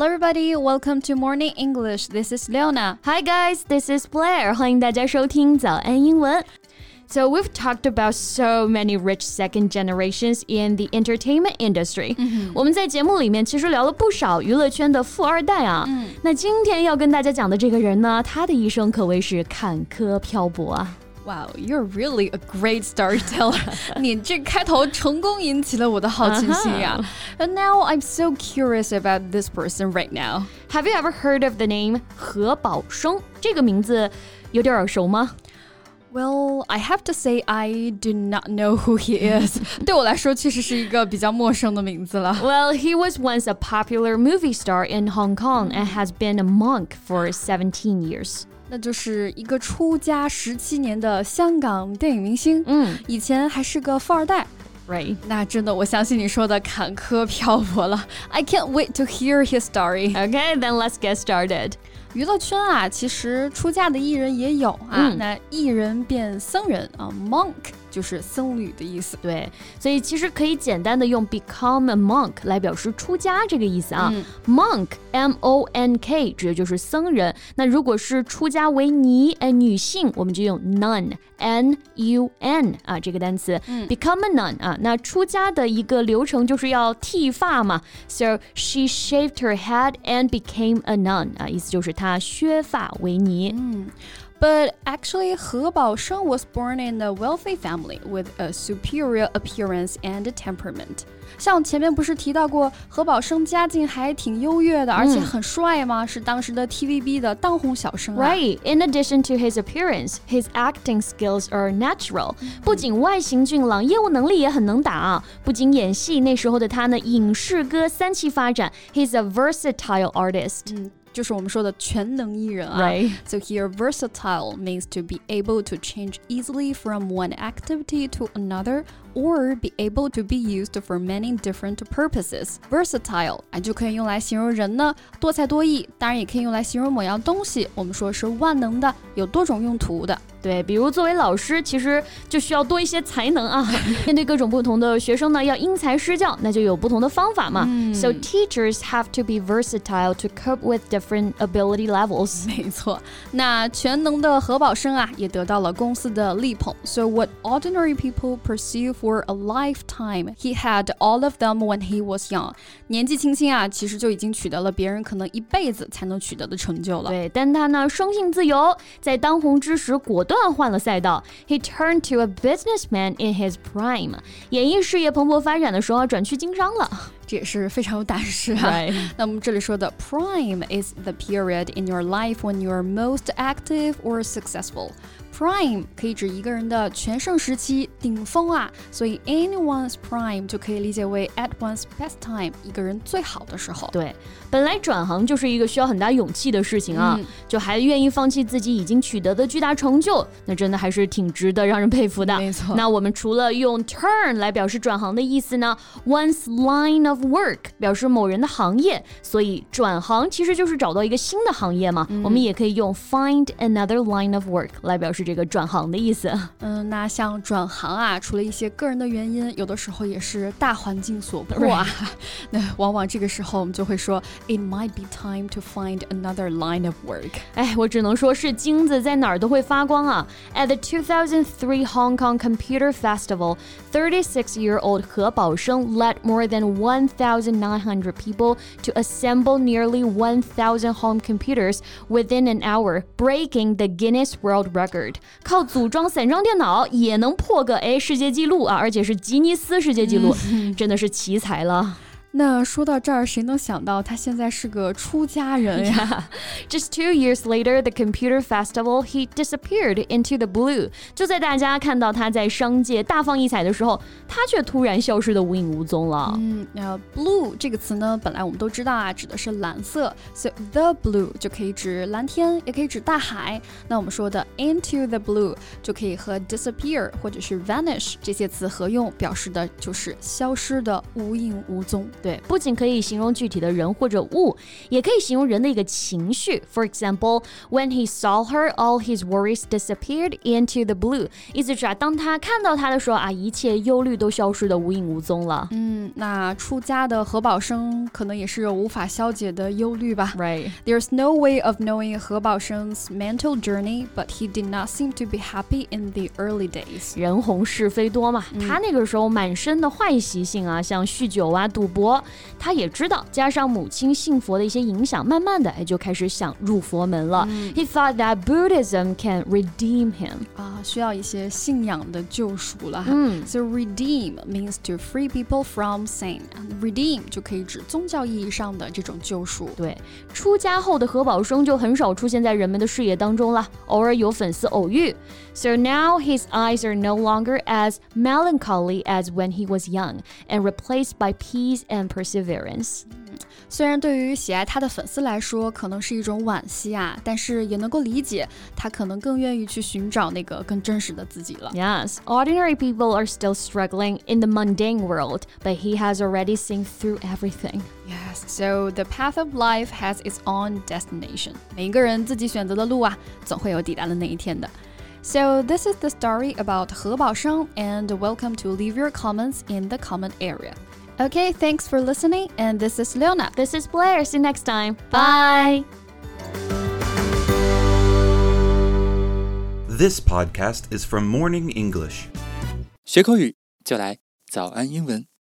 Hello everybody, welcome to Morning English. This is Leona. Hi guys, this is Blair. 欢迎大家收听早安英文。So we've talked about so many rich second generations in the entertainment industry. 我们在节目里面其实聊了不少娱乐圈的富二代啊。那今天要跟大家讲的这个人呢，他的一生可谓是坎坷漂泊啊。 Wow, you're really a great storyteller. 你这开头成功引起了我的好奇心呀。And now I'm so curious about this person right now. Have you ever heard of the name 何宝生？这个名字有点耳熟吗 ？Well, I have to say I do not know who he is. 对我来说确实是一个比较陌生的名字了。 Well, he was once a popular movie star in Hong Kong and has been a monk for 17 years. 那就是一个出家17年的香港电影明星。以前还是个富二代。 Right. 那真的我相信你说的坎坷漂泊了。I can't wait to hear his story. Okay, then let's get started. 娱乐圈啊，其实出家的艺人也有啊。那艺人变僧人啊 ，monk 就是僧侣的意思。 对，所以其实可以简单的用 become a monk 来表示出家这个意思啊。monk M-O-N-K 指的就是僧人。那如果是出家为尼女性，我们就用 nun N-U-N 啊这个单词。become a nun 啊，那出家的一个流程就是要剃发嘛。So she shaved her head and became a nun 啊，意思就是她削发为尼。 But actually, 何宝生 was born in a wealthy family with a superior appearance and temperament. 像前面不是提到过，何宝生家境还挺优越的，而且很帅吗？是当时的 TVB 的当红小生啊。 Right. In addition to his appearance, his acting skills are natural. 不仅外形俊朗，业务能力也很能打啊。不仅演戏，那时候的他呢，影视歌三栖发展。He's a versatile artist. 就是我们说的全能艺人啊。 Right. So here, versatile means to be able to change easily from one activity to another or be able to be used for many different purposes. Versatile 就可以用来形容人呢多才多艺，当然也可以用来形容某样东西。我们说是万能的，有多种用途的。 对，比如作为老师，其实就需要多一些才能啊。面对各种不同的学生呢，要因材施教，那就有不同的方法嘛。So teachers have to be versatile to cope with different ability levels. 没错，那全能的何宝生啊，也得到了公司的力捧。So what ordinary people pursue for a lifetime, he had all of them when he was young. 年纪轻轻啊，其实就已经取得了别人可能一辈子才能取得的成就了。 对，但他呢，生性自由，在当红之时果断换了赛道。He turned to a businessman in his prime. 演艺事业蓬勃发展的时候，转去经商了。 这也是非常有胆识啊。那我们这里说的 prime is the period in your life when you are most active or successful. Prime 可以指一个人的全盛时期、顶峰啊，所以 anyone's prime 就可以理解为 at one's best time， 一个人最好的时候。 对，本来转行就是一个需要很大勇气的事情啊，就还愿意放弃自己已经取得的巨大成就，那真的还是挺值得让人佩服的。 没错。 那我们除了用 turn 来表示转行的意思呢 ，one's line of work 表示某人的行业，所以转行其实就是找到一个新的行业嘛。我们也可以用 find another line of work 来表示这个转行的意思。 那像转行啊，除了一些个人的原因，有的时候也是大环境所迫啊。那往往这个时候我们就会说 It might be time to find another line of work. 哎，我只能说是金子在哪儿都会发光啊。At the 2003 Hong Kong Computer Festival, 36-year-old 何宝生 led more than 1,900 people to assemble nearly 1,000 home computers within an hour, breaking the Guinness World Record. 靠组装散装电脑也能破个世界纪录啊，而且是吉尼斯世界纪录，真的是奇才了。 那说到这儿，谁能想到他现在是个出家人呀 ？Just 2 years later, the computer festival, he disappeared into the blue. 就在大家看到他在商界大放异彩的时候，他却突然消失得无影无踪了。 blue 这个词呢，本来我们都知道啊，指的是蓝色，所以 the blue 就可以指蓝天，也可以指大海。那我们说的 into the blue 就可以和 disappear 或者是 vanish 这些词合用，表示的就是消失的无影无踪。 对，不仅可以形容具体的人或者物，也可以形容人的一个情绪。For example, when he saw her, all his worries disappeared into the blue. 意思是当他看到她的时候一切忧虑都消失得无影无踪了。 那出家的何宝生可能也是有无法消解的忧虑吧。 Right. There's no way of knowing 何宝生's mental journey, but he did not seem to be happy in the early days. 人红是非多嘛，他那个时候满身的坏习性像酗酒赌博，他也知道，加上母亲信佛的一些影响，慢慢的就开始想入佛门了。He thought that Buddhism can redeem him. 需要一些信仰的救赎了。So redeem means to free people from sin. Redeem 就可以指宗教意义上的这种救赎。 对，出家后的何宝生就很少出现在人们的视野当中了，偶尔有粉丝偶遇。So now his eyes are no longer as melancholy as when he was young, and replaced by peace and perseverance. 虽然对于喜爱他的粉丝来说可能是一种惋惜但是也能够理解他可能更愿意去寻找那个更真实的自己了。 Yes, ordinary people are still struggling in the mundane world, but he has already seen through everything. Yes, so the path of life has its own destination. 每一个人自己选择的路总会有抵达的那一天的。So this is the story about 何宝生, and welcome to leave your comments in the comment area. Okay, thanks for listening, and this is Leona. This is Blair. See you next time. Bye. This podcast is from Morning English. 学口语就来早安英文。